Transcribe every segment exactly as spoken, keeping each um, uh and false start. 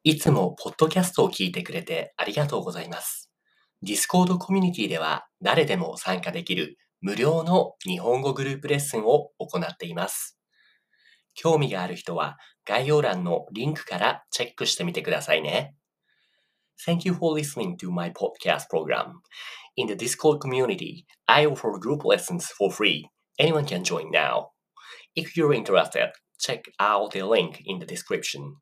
いつもポッドキャストを聞いてくれてありがとうございます。Discord コミュニティでは誰でも参加できる無料の日本語グループレッスンを行っています。興味がある人は概要欄のリンクからチェックしてみてくださいね。Thank you for listening to my podcast program. In the Discord community, I offer group lessons for free. Anyone can join now. If you're interested, check out the link in the description.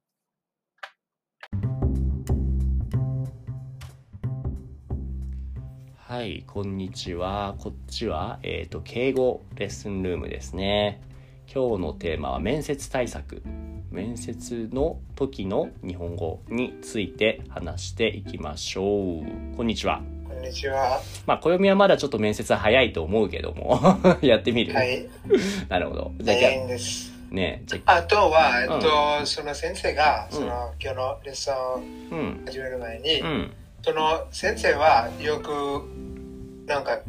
はい、こんにちは。こっちは、えーと、敬語レッスンルームですね。今日のテーマは面接対策。面接の時の日本語について話していきましょう。こんにちは。 こんにちは。 まあ、暦はまだちょっと面接は早いと思うけども、やってみる。 はい。 なるほど。じゃあ早いんです。 ね、じゃあとは、えっと、 うん、 その先生が、 うん、 その今日のレッスンを始める前に、 うん、 その先生はよく、なんか、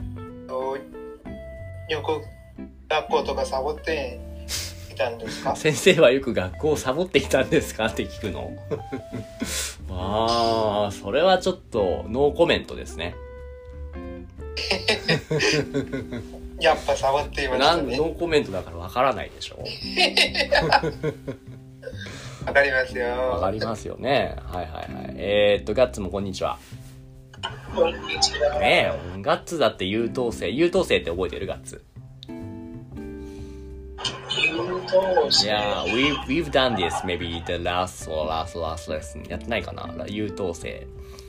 よく学校とかサボっていたんですか？ 先生はよく学校をサボっていたんですかって聞くの。ああ、それはちょっとノーコメントですね。 やっぱサボっていましたね。 ノーコメントだからわからないでしょ。 わかりますよ。 わかりますよね。はいはいはい。えー、っとガッツもこんにちは。 こんにちは。 ねえ、ガッツだって優等生。優等生って覚えてる？ガッツ。Yeah, we've, we've done this maybe the last or last last lesson. やってないかな？優等生。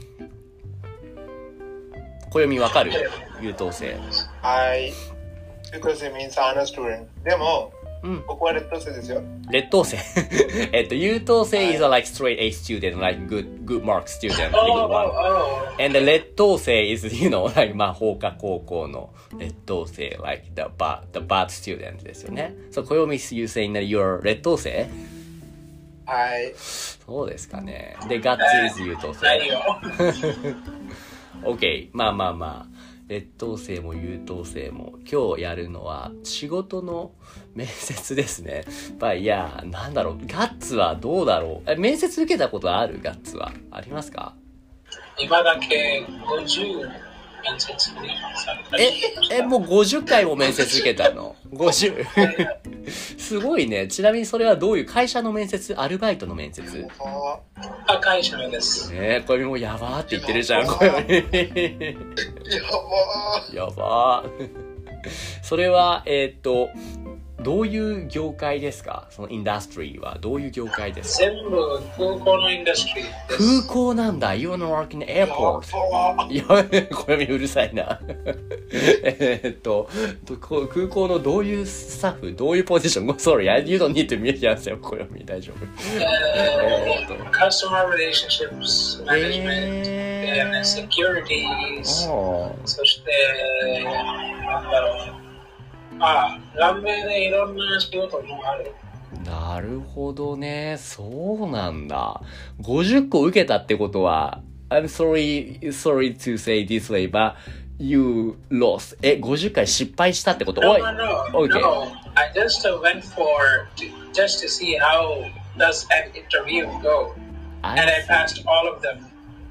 暦わかる？優等生。 はい。Because it means honor student. でも、 うん、 僕は劣等生ですよ。 劣等生。えっと、優等生 is a like straight A student, like good, good mark student. Oh, oh, oh. And the 劣等生 is, you know, like まあ、法科高校の劣等生 like the bad, the bad student ですよね。So, 暦 you saying that you're 劣等生？ はい。 そうですかね。で、ガッツ is 優等生。OK。まあまあまあ。劣等生も優等生も今日やるのは仕事の面接ですね。まあいや、なんだろう、ガッツはどうだろう。え、面接受けたことある？ガッツはありますか？ 今だけごじゅう面接された。 え、え、もうごじゅっかいも面接受けたの？ごじゅう。すごいね。ちなみにそれはどういう会社の面接？アルバイトの面接？ あ、会社のです。 ねえ、これもやばーって言ってるじゃん、これ。 やばー。やばー。それは、えー、っと、どういう業界ですか？そのインダストリーはどういう業界ですか？ 全部空港のインダストリーです。 空港なんだ。You wanna work in the airport? いや、これうるさいな。えっと、空港のどういうスタッフ、どういうポジション？ Sorry, you don't need to make yourself これ大丈夫。 えー、Customer Relationships Management、えー、Securities、そして、なんだろう。ああ、ランメでいろんな仕事もある。 なるほどね。そうなんだ。ごじゅっこ受けたってことは、I'm sorry, sorry to say this way, but you lost. え、ごじゅっかい失敗したってこと？ No, no, no. Okay. No. I just went for, to, just to see how does an interview go. I And I passed all of them.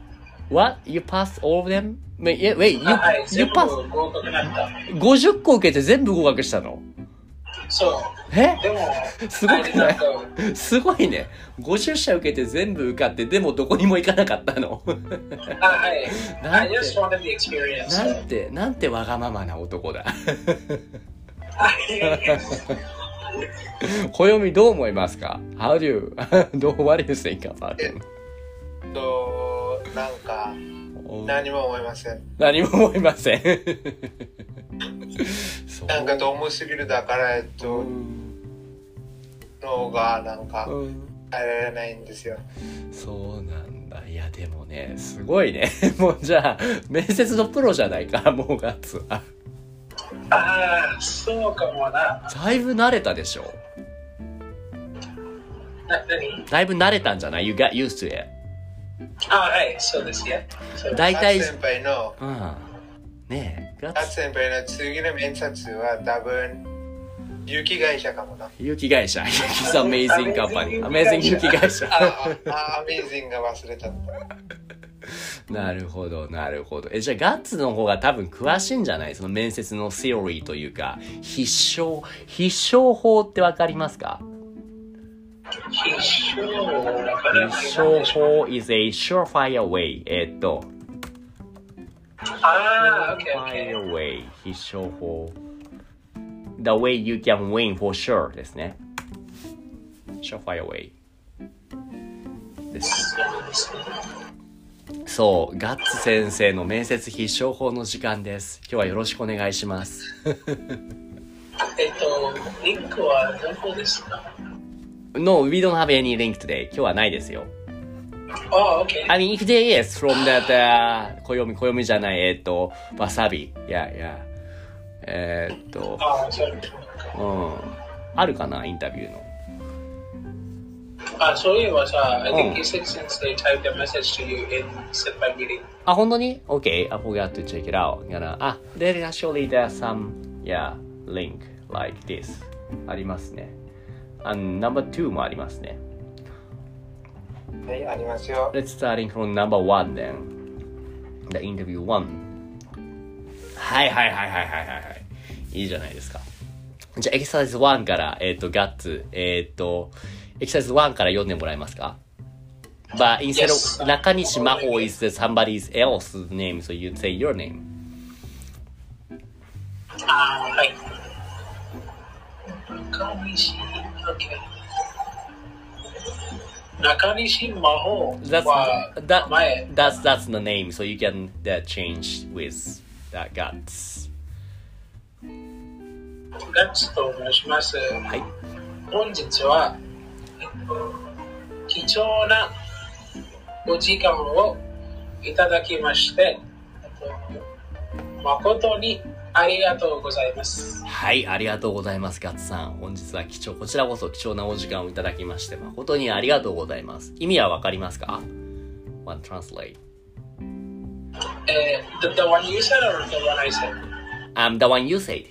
What? You passed all of them? Wait, wait, you, はい、 you 全部 passed? 合格だった。 ごじゅっこ受けて全部合格したの？ そう。 え？ でも、 すごくない？すごいね。ごじゅっしゃ受けて全部受かって、でもどこにも行かなかったの。 あ、はい。 なんて、 I just wanted the experience. なんて、なんてわがままな男だ。暦どう思いますか？ How do you, what do you think about him? と、なんか、何も思いません。 何も思いません。 なんかどうもすぎるだから、えっと、脳がなんか耐えられないんですよ。 そうなんだ。いやでもね、すごいね。もうじゃあ面接のプロじゃないか、もうガッツは。 ああ、そうかもな。 だいぶ慣れたでしょ。 な、何？ だいぶ慣れたんじゃない？ You got used to it. あ、はい、そうですよ。 大体、 ガッツ先輩の、 うん、ねえ、 ガッツ先輩の次の面接は多分雪会社かもな。 雪会社。It's amazing company. Amazing 雪会社。 ああ、Amazing が忘れちゃった。 なるほど、なるほど。え、じゃあガッツの方が多分詳しいんじゃない？その面接のセオリーというか、必勝、必勝法ってわかりますか？ 必勝必勝法 is a surefire way. えー、っと、 ああ、OK, surefire way. 必勝法。The way you can win for sure ですね。surefire way です。そう、ガッツ先生の面接必勝法の時間です。今日はよろしくお願いします。 えっと、リンクはどこですか？ No, we don't have any link today. 今日はないですよ。 Oh, okay. I mean, if there is from that, uh, 暦、暦じゃない、えっと、わさび。Yeah, yeah. えー、っと、 ああ、そう。 うん。あるかな、インタビューの。 あ、そういえばさ、I think you said since they typed a message to you in set by meeting. あ、本当に ?Okay, I forgot to check it out. Gonna, あ、there actually there's some, yeah, link like this. ありますね。And number two もありますね。 はい、ありますよ。 Let's starting from number one then. The interview one. はいはいはいはいはいはい。いいじゃないですか。じゃあエクササイズワンから、えっと、ガッツ、えっと、エクササイズワンから読んでもらえますか？ But instead of 中西真帆 is somebody else's name, so you say your name. あー、はい。中西、OK。中西真帆 That's, は that, 前。 that's, that's the name, so you can that change with that guts. ガッツと申します。 はい。 本日は、えっと、貴重なお時間をいただきまして、えっと、誠にありがとうございます。 はい、ありがとうございます、ガッツさん。本日は貴重、こちらこそ貴重なお時間をいただきまして、誠にありがとうございます。意味はわかりますか？ One translate. えー、the, the one you said or the one I said? Um, the one you said.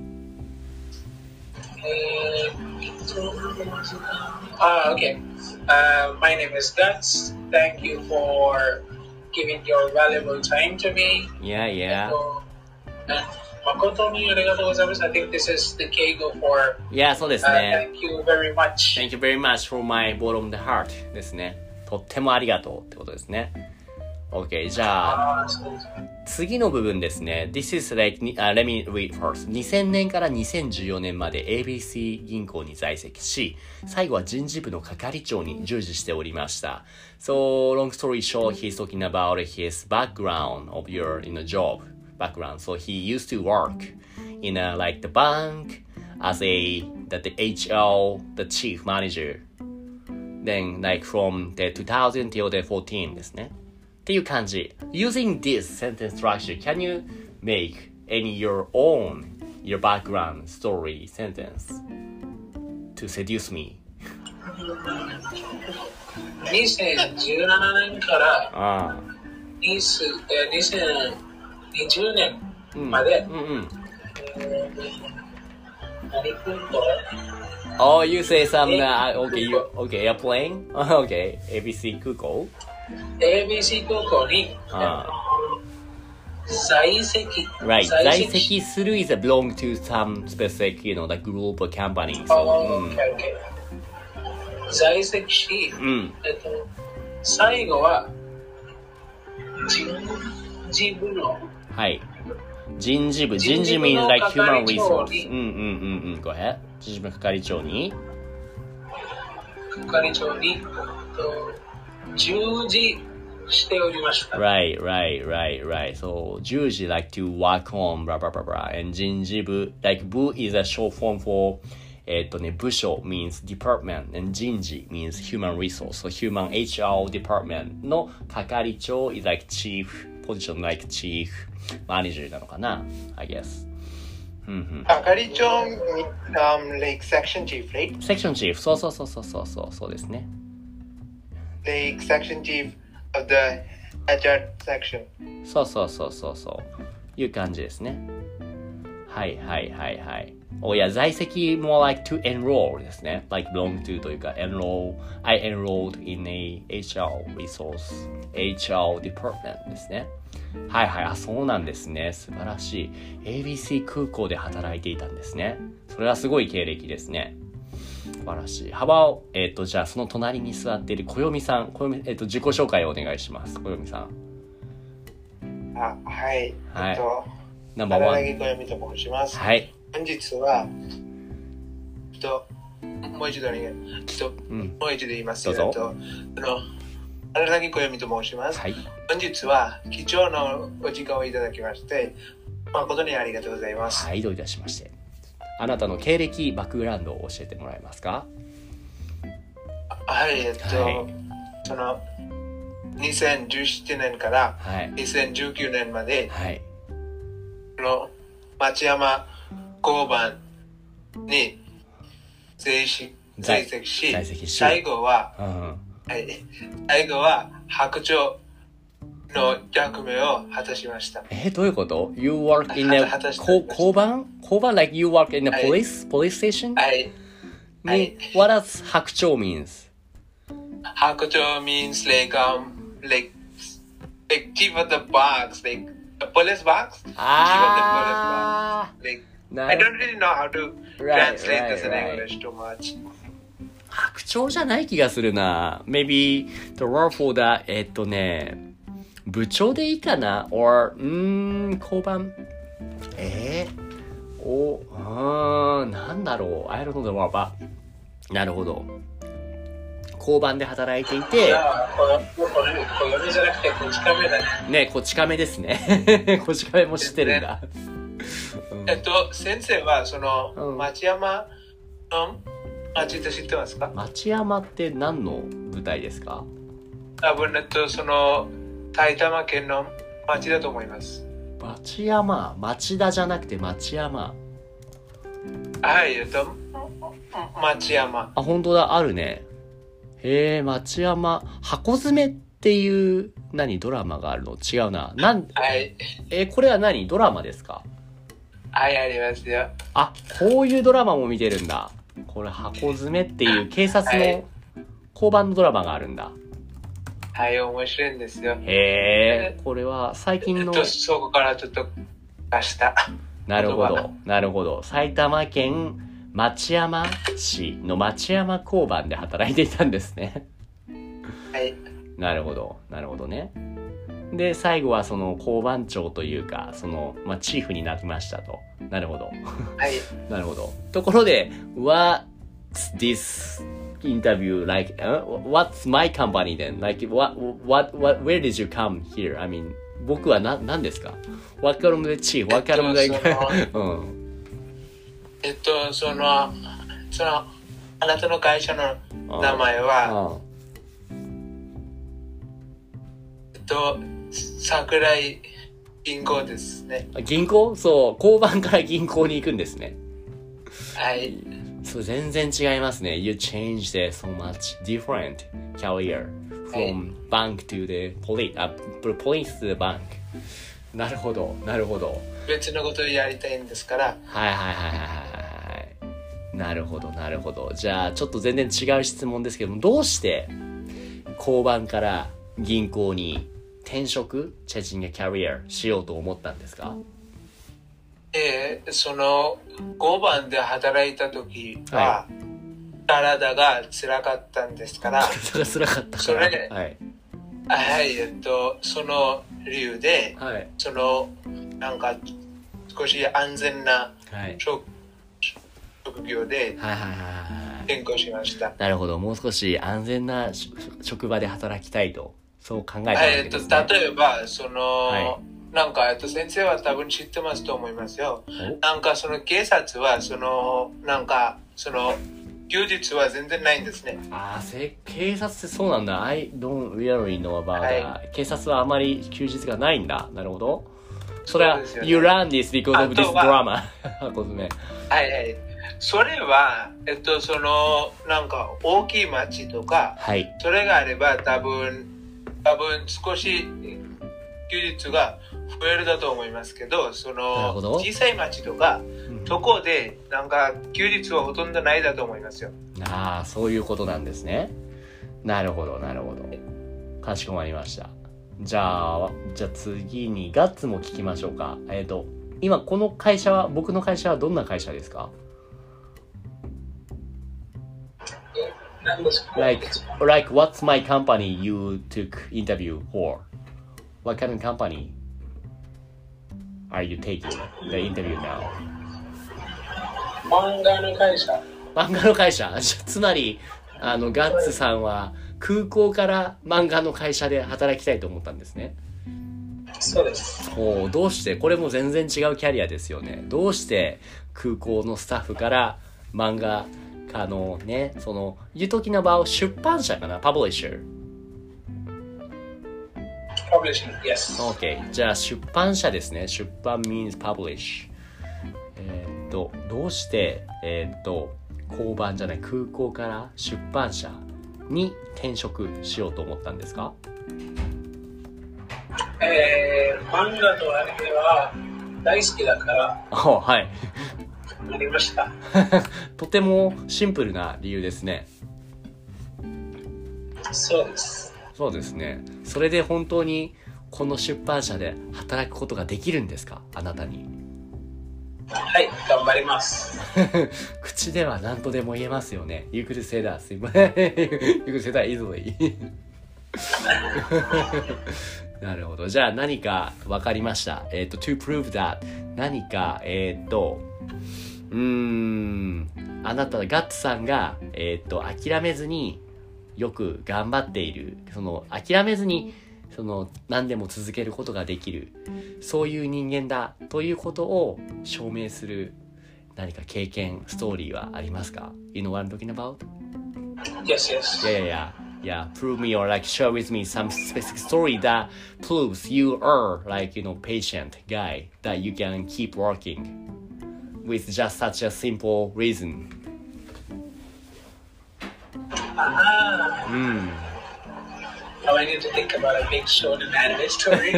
えー、貴重なお時間。Ah, okay. Uh, my name is Guts. Thank you for giving your valuable time to me. Yeah, yeah. And 誠にありがとうございます。I think this is the Keigo for. Yeah, そうですね。 Uh, thank you very much. Thank you very much for my bottom of the heart ですね。とってもありがとうってことですね。OK、じゃあ、次の部分ですね。This is like,、uh, let me read first. にせんねんからにせんじゅうよねんまで エービーシー 銀行に在籍し、最後は人事部の係長に従事しておりました。So, long story short, he's talking about his background of your, you know, job background. So, he used to work in a, like the bank as a, the, the H R, the chief manager. Then, like from the two thousand till the fourteen ですね。っていう感じ。Using this sentence structure, can you make any your own, your background story sentence to seduce me? にせんじゅうななねんからにせんにじゅうねんまで、 うんうんうん、 何君と Oh, you say some, uh, okay, you, okay, airplane? Okay, エービーシー 空港エービーシー 空港に在籍 Right, 在籍する is a belong to some specific, you know, the group or company. So, oh, okay, okay. 在籍し、うん、えっと、最後は人事部のはい。人事部、人事 means like human resource. うんうんうんうん。Go ahead. 人事部の係長に係長に、えっと、従事しておりました。 Right, right, right, right. So, 従事 like to work on, blah, blah, blah, blah. And 人事部, like 部 is a short form for, えっとね、部署 means department. And 人事 means human resource. So, human エイチアール department の係長 is like chief, position like chief manager なのかな I guess. 係長 um, like section chief, right? Section chief. そうそうそうそうそうそうそうですね。 Like section chief of the エイチアール section. そうそうそうそうそういう感じですね。はいはいはいはい。 おや、在籍も like to enroll ですね。like belong to というか enroll, I enrolled in a エイチアール resource, エイチアール department ですね。はいはい、あ、そうなんですね。素晴らしい。エービーシー 空港で働いていたんですね。それはすごい経歴ですね。素晴らしい。幅を、えっと、じゃあその隣に座っている小読さん、小読、えっと、自己紹介をお願いします。小読さん。 あ、はい。 はい。 えっと、 ナンバーワン。 荒木小読と申します。 はい。 本日は、えっと、もう一度お願い、えっと、うん、もう一度言いますよ。 どうぞ。 あの、荒木小読と申します。 はい。 本日は貴重なお時間をいただきまして、誠にありがとうございます。 はい、どういたしまして。あなたの経歴、バックグラウンドを教えてもらえますか？ はい、えっと、はい、その、にせんじゅうななねんからにせんじゅうきゅうねんまで、はい、の町山交番に在籍在籍し、在籍し最後は、うん、はい、最後は白鳥の役目を果たしました。 えー、どういうこと ?You work in a 交番交番 like you work in a police、はい、police station? はい。 はい。What does 白鳥 means? 白鳥 means like um like like keep at the box like a police box. Ah. Keep at the police box. Like I don't really know how to right, translate right, this in right. English too much. 白鳥じゃない気がするな。Maybe the word for that えっとね。部長でいいかな or うーん交番えー、おあーなんだろう I don't know the word but なるほど交番で働いていてこれじゃなくてこち亀だねねこち亀ですねこち亀も知ってるんだ、うん、 えっと先生はその、うん、町山の町って知ってますか？ 町山って何の舞台ですか？ 多分えっとその埼玉県の町だと思います。 町山、町田じゃなくて町山。 はい、えっと、町山。 あ、本当だ、あるね。へえ、町山。箱詰めっていう、何、ドラマがあるの？違うな。なん、 はい。 え、これは何？ドラマですか？ はい、ありますよ。 あ、こういうドラマも見てるんだ。これ、箱詰めっていう警察の交番のドラマがあるんだ。 はい、面白いんですよ。 へえ、これは最近の。 そこからちょっと出した。 なるほど、なるほど。埼玉県町山市の町山交番で働いていたんですね。 はい。 なるほど、なるほどね。で、最後はその交番長というか、その、まあ、チーフになりましたと。なるほど。 はい。 なるほど。ところで、What's this interview like uh, what's my company then like what what what where did you come here I mean 僕はな何ですか what kind of the chief what kind of like えっとそのそのあなたの会社の名前はえっと桜井銀行ですね。 銀行そう交番から銀行に行くんですね。 はい。 そう全然違いますね。You changed so much different career from bank to the police, uh, police to the bank. なるほど、なるほど。 別のことをやりたいんですから。 はいはいはいはいはい。なるほど、なるほど。じゃあちょっと全然違う質問ですけども、どうして交番から銀行に転職、changing a career しようと思ったんですか？ えー、その交番で働いた時は、はい、体が辛かったんですから体が辛かったからそれ、はいはい、えっとその理由で、 はい、 そのなんか少し安全な職、はい、職業で転校しました、はいはいはいはい、 なるほど、もう少し安全な職場で働きたいとそう考えたわけですね。 はい、えっと例えばその、はいなんか、えっと、先生は多分知ってますと思いますよ。なんか、その警察は、その、なんか、その、休日は全然ないんですね。 ああ、警察ってそうなんだ。I don't really know about that、はい。警察はあまり休日がないんだ。なるほど。それは、ね、You learn this because of this drama. はいはい。それは、えっと、その、なんか、大きい町とか、はい、それがあれば、多分、多分少し、休日が増えるだと思いますけど、その小さい町とか、 うん、 そこでなんか休日はほとんどないだと思いますよ。 ああ、そういうことなんですね。なるほどなるほど。かしこまりました。じゃあじゃあ次にガッツも聞きましょうか。えっと今この会社は、僕の会社はどんな会社ですか？Like, like what's my company you took interview for? What kind of company are you taking the interview now? 漫画の会社。 漫画の会社つまり、あの、ガッツさんは空港から漫画の会社で働きたいと思ったんですね。 そうです。 おどうして、これも全然違うキャリアですよね。どうして空港のスタッフから漫画あのね、その、You talking about 出版社かな ?Publisher。 Publishing, yes. OK。じゃあ出版社ですね。出版 means publish。えー、っと、どうして、えー、っと、交番じゃない、空港から出版社に転職しようと思ったんですか？ えー、漫画とアニメは大好きだから。 おはい。 ありましたとてもシンプルな理由ですね。 そうです。 そうですね。それで本当にこの出版社で働くことができるんですか？あなたに。 はい、頑張ります。 口では何とでも言えますよね。You could say that. You could say that easily. なるほど。じゃあ何か分かりました。えっと、to prove that 何か、えっと、うーん、あなた、ガッツさんが、えっと、諦めずによく頑張っている、その、諦めずに、その、何でも続けることができる、そういう人間だということを証明する何か経験、ストーリーはありますか？ You know what I'm talking about? Yes, yes. Yeah, yeah, yeah. Yeah, prove me or like share with me some specific story that proves you are like, you know, patient guy that you can keep working with just such a simple reason. Ah. Mm. Now I need to think about a big shonen anime story.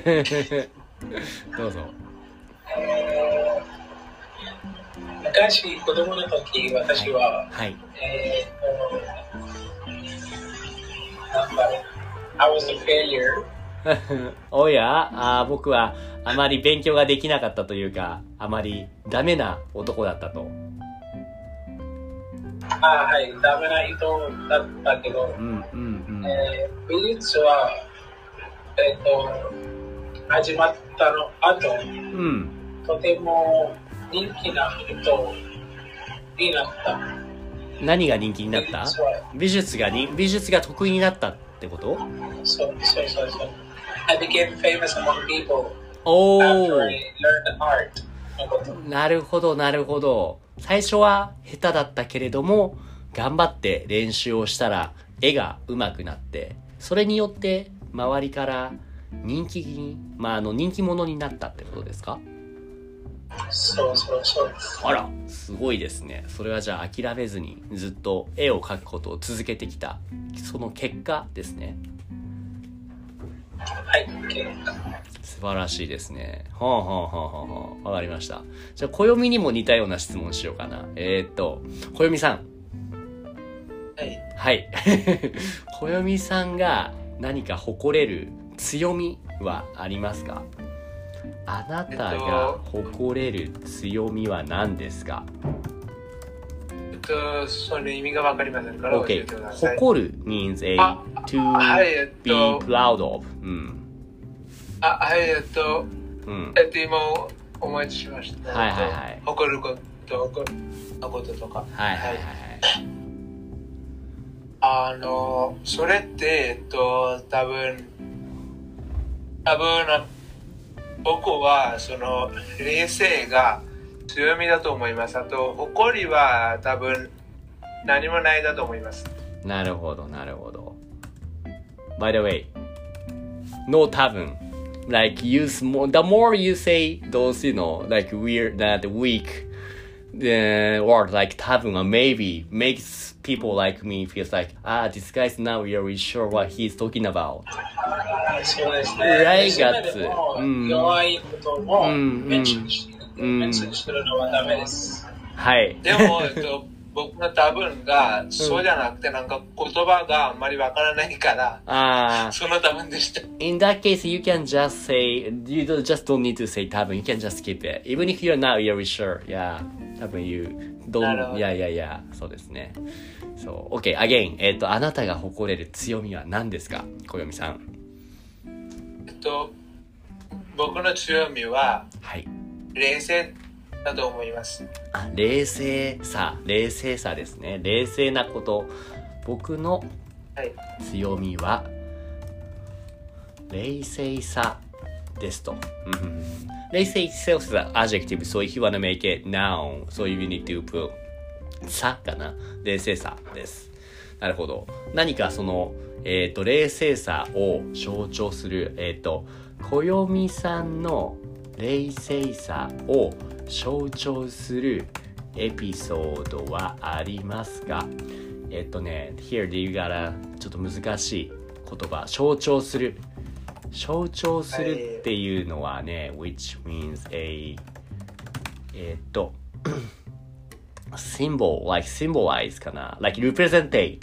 どうぞ。 昔子供の時、私は、 はい。 えーなんだろう、I was a failure. おやあ、僕はあまり勉強ができなかったというか、あまりダメな男だったと。 あ、はい、ダメな人だったけど、 うんうんうん。 えー、美術は、えっと、始まったの後、うん、とても人気な人になった。 何が人気になった？美術がに美術が得意になったってこと？ そうそうそうそう。I became famous among people after I learned art. なるほどなるほど。最初は下手だったけれども頑張って練習をしたら絵が上手くなって、それによって周りから人気に、まあ、あの人気者になったってことですか？ そうそうそうです。 あら、すごいですね。それはじゃあ諦めずにずっと絵を描くことを続けてきた、その結果ですね。 はい、結果。 素晴らしいですね。はあはあはあはあ。わかりました。じゃあ暦にも似たような質問しようかな。えー、っと暦さん。 はい。 はい。暦さんが何か誇れる強みはありますか？あなたが誇れる強みは何ですか？ えっと、その意味がわかりませんから教えてください。 誇る means a to be proud of、うん、 あ、はい、えっと、うん、えっと、今思い出しました。 はいはいはい。 誇ること、誇ることとか。 はいはいはい。 あの、それって、えっと、多分、多分、僕はその冷静が強みだと思います。あと誇りは多分何もないだと思います。 なるほどなるほど。By the way, no 多分 like use more, the more you say those, you know, like weird, that weak the word like 多分 or maybe makes people like me feels like ah this guy's not really sure what he's talking about. そうですね。 来月。 うん、弱いこともメンションしてる、メンションしてるのはダメです。 はい。 でも、えっと、僕の多分が、そうじゃなくて、なんか言葉があんまりわからないから、あその多分でした。 In that case, you can just say, you don't, just don't need to say 多分 you can just skip it. Even if you're not really sure. Yeah. 多分 you don't, yeah, yeah, yeah. そうですね。そう。OK, again. えっと、あなたが誇れる強みは何ですか？小読さん。 えっと、僕の強みは、 はい。 冷静だと思います。 あ、冷静さ、冷静さですね。冷静なこと。僕の強みは、冷静さですと。冷静 itself is an adjective, so if you want to make it noun, so you need to put さかな。冷静さです。なるほど。何かその、えっと、冷静さを象徴する、えっと、小読さんの冷静さを象徴するエピソードはありますか？えっとね、here you gotta ちょっと難しい言葉、象徴する。象徴するっていうのはね、which means a えっとsymbol, like symbolize かな like representate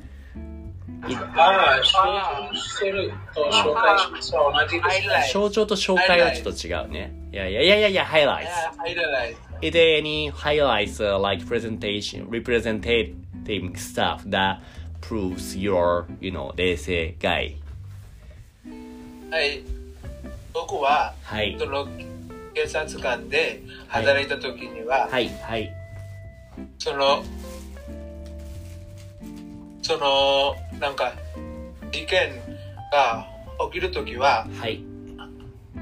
ああ、象徴すると紹介しますは同じですね。 象徴と紹介はちょっと違うね。いやいやいやいやいや、highlights. Is there any highlights、uh, like presentation, representative stuff that proves your, you know, 冷静 guy? はい。僕は、 はい、 その警察官で働いた時には、 はい、はい、 その、その、なんか、事件が起きる時は、 はい、 うん、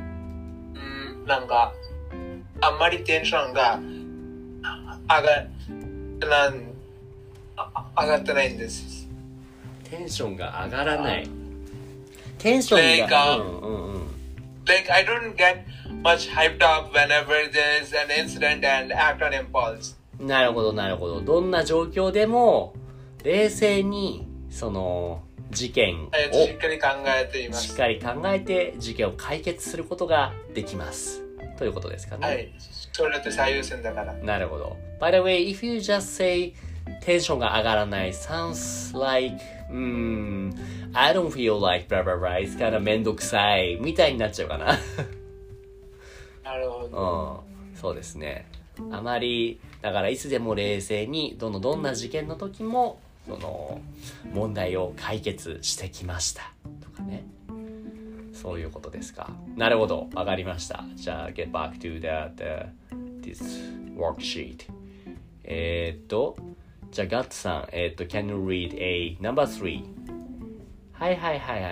なんか、あんまりテンションが上がなん上がってないんです。 テンションが上がらない。テンションが、 like, uh, うんうんうん、like I don't get much hyped up whenever there's an incident and act on impulse. なるほどなるほど。どんな状況でも冷静にその事件をしっかり考えています。 しっかり考えて事件を解決することができます。ということですかね。 はい。それって最優先だから。 なるほど。By the way, if you just say テンションが上がらない sounds like, うーん、I don't feel like blah blah blah, it's kind of めんどくさいみたいになっちゃうかな。 なるほど。 うん、そうですね。あまりだからいつでも冷静にどのどんな事件の時もその問題を解決してきましたとかね。そういうことですか。なるほど、わかりました。じゃあ get back to that、uh, this worksheet。えー、っとじゃあガッツさん、えー、っと can you read a number three？ はいはいはいはい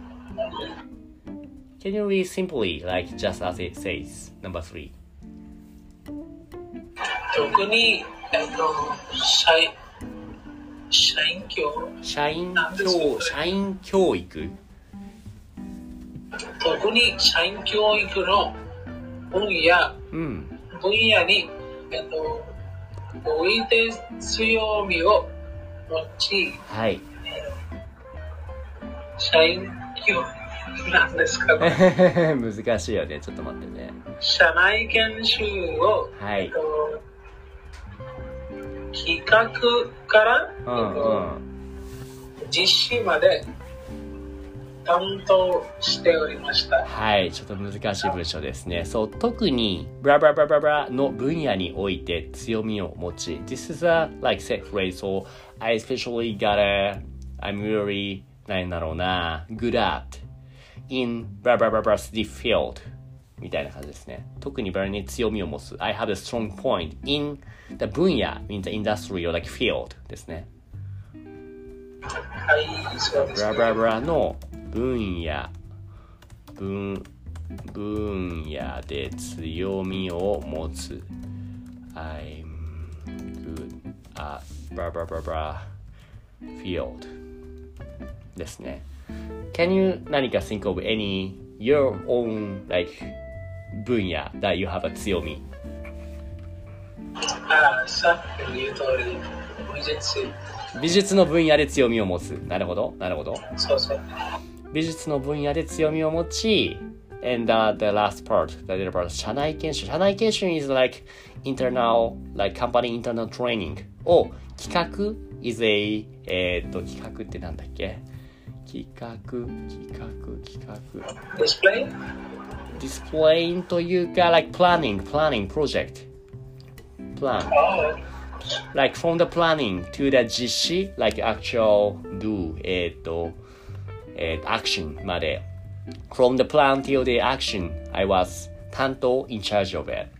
。Can you read simply like just as it says number three？ 特にえっと社員社員教社員教社員教育特に社員教育の分野、うん、分野に、えっと、おいて強みを持ち、 はい、 社員教育なんですかね。 難しいよね。ちょっと待ってね。 社内研修を、 はい、 えっと、企画から、 うんうん、 実施まで担当しておりました。 はい、ちょっと難しい文章ですね。そう、特にブラブラブラブラブラの分野において強みを持ち。This is a like set phrase, so I especially got a, I'm really なんだろうな good at in ブラブラブラブラ the field みたいな感じですね。特にブラに強みを持つ。I have a strong point in the 分野 in the industry or like field ですね。 はい、そうですね。 ブラブラブラの分野 分, 分野で強みを持つ I'm good at blah blah blah blah field ですね。 Can you 何か think of any your own like 分野 that you have a 強み？ ああ、さっきの言う通り美術美術の分野で強みを持つ。なるほどなるほど。 そうそう。 美術の分野で強みを持ち、and uh, the last part, the little part, 社内研修。社内研修 is like internal, like company internal training を企画 is a えー、っと企画ってなんだっけ？企画企画企画 Display? Displaying というか like planning planning project plan Oh. like from the planning to the 実施 like actual do えー、っと、えー、action まで from the plan till the action I was 担当 in charge of it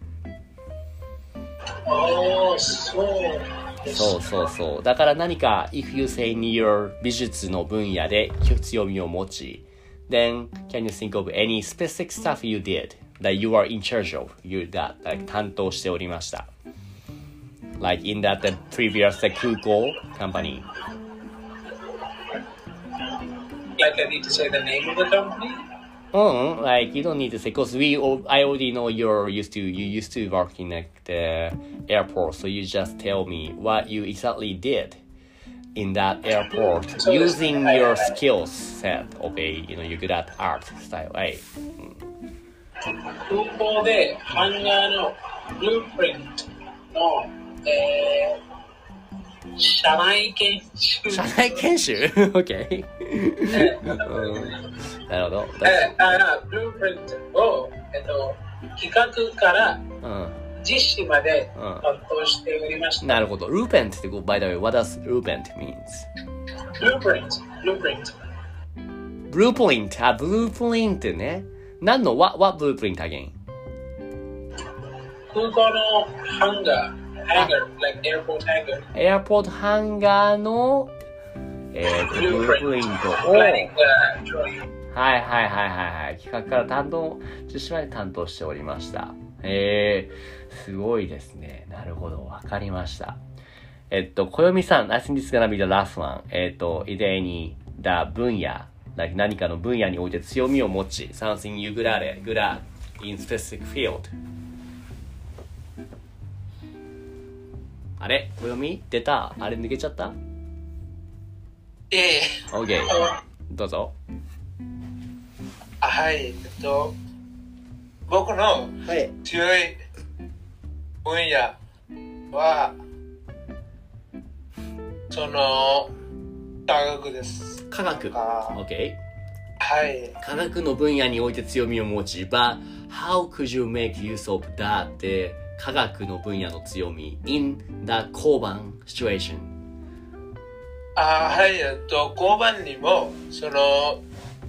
Oh, so. そうそうそうだから何か if you say in your 美術の分野で強みを持ち then can you think of any specific stuff you did that you are in charge of you that like 担当しておりました like in that the previous the 空港 company Like I need to say the name of the company? Mm, like you don't need to say because we I already know you're used to you used to work in like the airport so you just tell me what you exactly did in that airport So using this- your skills set of a you know you're good at art style right 空港でハンガーのブループリントの、えー、社内研修。 社内研修 OK うんなるほどえー、あブループリントを、えっと、企画からうん実施までうん担当しておりました。 なるほど Lupent って by the way what does Lupent means ブループリント、ブループリント。 ブループリントあブループリントね何の what, what blueprint again 空港のハンガー、ハンガー、like airport hanger。 エアポートハンガーの、えー、とブループリントを、はい Planning the drawing。 はいはいはいはい、企画から担当、実施まで担当しておりました。えー、すごいですね。なるほど、わかりました。えっと、小読さん、I think this is gonna be the last one. えっと、is there any, the 分野、like 何かの分野において強みを持ち、something you good at it, good at in specific field. あれ小読み出たあれ抜けちゃったええ ?OK。どうぞ。 あはい、えっと、僕のはい。 強い分野は、その、科学です。 科学。 あ OK。 はい。 科学の分野において強みを持ち、but how could you make use of that って科学の分野の強み in the 交番 situation? あはい、えっと、交番にも、その、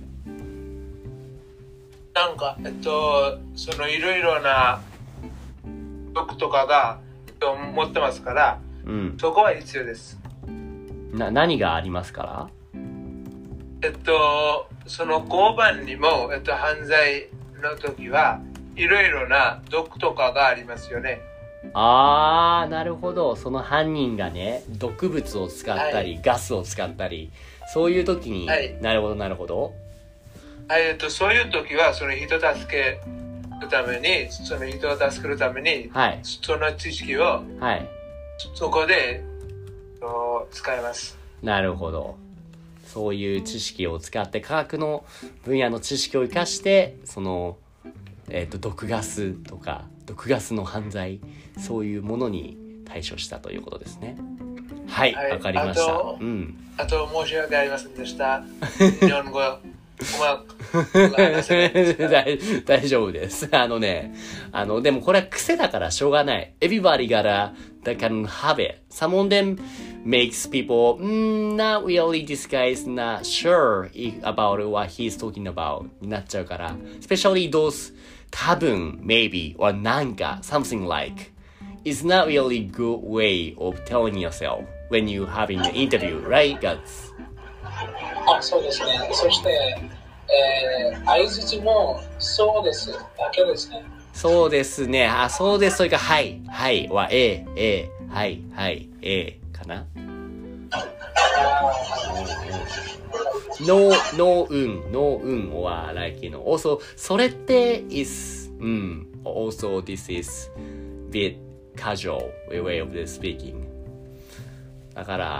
なんか、えっと、そのいろいろな毒とかが、えっと、持ってますから、 うん。 そこは必要です。 な、何がありますからえっと、その交番にも、えっと、犯罪の時はいろいろな毒とかがありますよね。 あー、なるほど。その犯人がね、毒物を使ったり、 はガスを使ったり、そういう時に、 はいなるほど、なるほど。 はい、えっと、そういう時は、その人助けるために、その人を助けるために、 はい。 その知識をはい。 そこでそう使います。 なるほど。そういう知識を使って科学の分野の知識を生かしてその、えー、と毒ガスとか毒ガスの犯罪そういうものに対処したということですね。はいわ、 はいかりました。 あとうん。 あと申し訳ありませんでした。日本語うまく話せないですから大大丈夫です。あのね、あの、でもこれは癖だからしょうがない。Everybody gotta, that can have it. Some of them makes people, mm, not really, this guy is not sure about what he's talking about になっちゃうから。Especially those 多分、maybe, or なんか、something like. It's not really good way of telling yourself when you having an interview, right, Guts? あ、そうですね。そして、えー、相槌もそうですだけですね。 そうですね。あ、そうです。それか、はい、はいは、ええ、ええ、はい、はい、ええ、かな。no, no, うん、no, うん、は、like, you know, also, それって is, うん、also, this is bit casual way of the speaking. だから、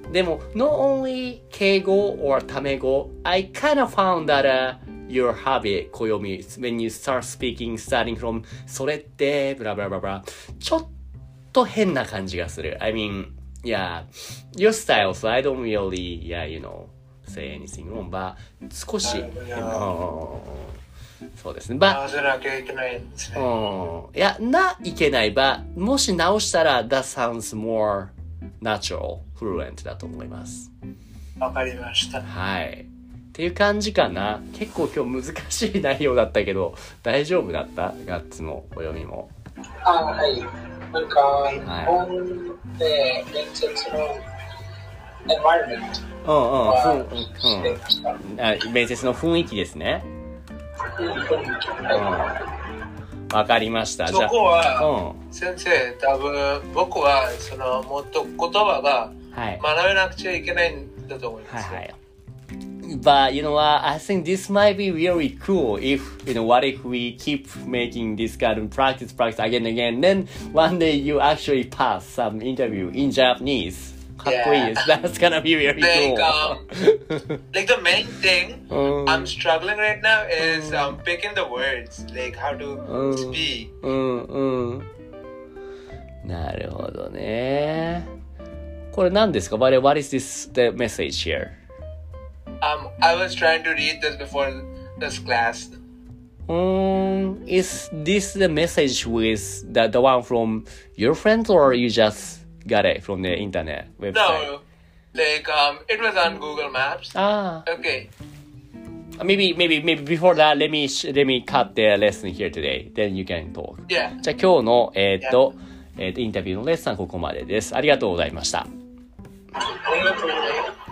でも、not only 敬語 or タメ語、I kind of found that、uh, your habit, 暦 when you start speaking, starting from それって、ブラブラブラブラ、ちょっと変な感じがする。I mean, yeah, your style, so I don't really, yeah, you know, say anything wrong, but 少し変な。そうですね。 直さなきゃいけないんですね。 うん。いや、ないけないば、もし直したら、that sounds more natural, fluent だと思います。 わかりました。 はい。っていう感じかな。結構今日難しい内容だったけど、大丈夫だったガッツのお読みも。 あ、はい。なんか、日本で面接のenvironment はしてました。 うんうん。あ、面接の雰囲気ですね。わかりました。 そこは、うん、先生、多分僕はそのもっと言葉が学べなくちゃいけないんだと思います。はいはい。 But you know what? I think this might be really cool if, you know, what if we keep making this kind of practice, practice again and again, then one day you actually pass some interview in Japanese. かっこいいです。 Yeah. That's gonna be really like, cool. Um, like the main thing I'm struggling right now is um, picking the words, like how to speak. うんうん。なるほどね。これ何ですか？ What, what is this the message here? Um, I was trying to read this before this class. Um, is this the message with the the one from your friends or you just got it from the internet website? No, like um, it was on Google Maps. Ah. Okay. Maybe, maybe, maybe before that, let me let me cut the lesson here today. Then you can talk. Yeah. じゃあ今日のえー、っと、yeah. えー、っとインタビューのレッスンはここまでです。ありがとうございました。 ありがとうございます。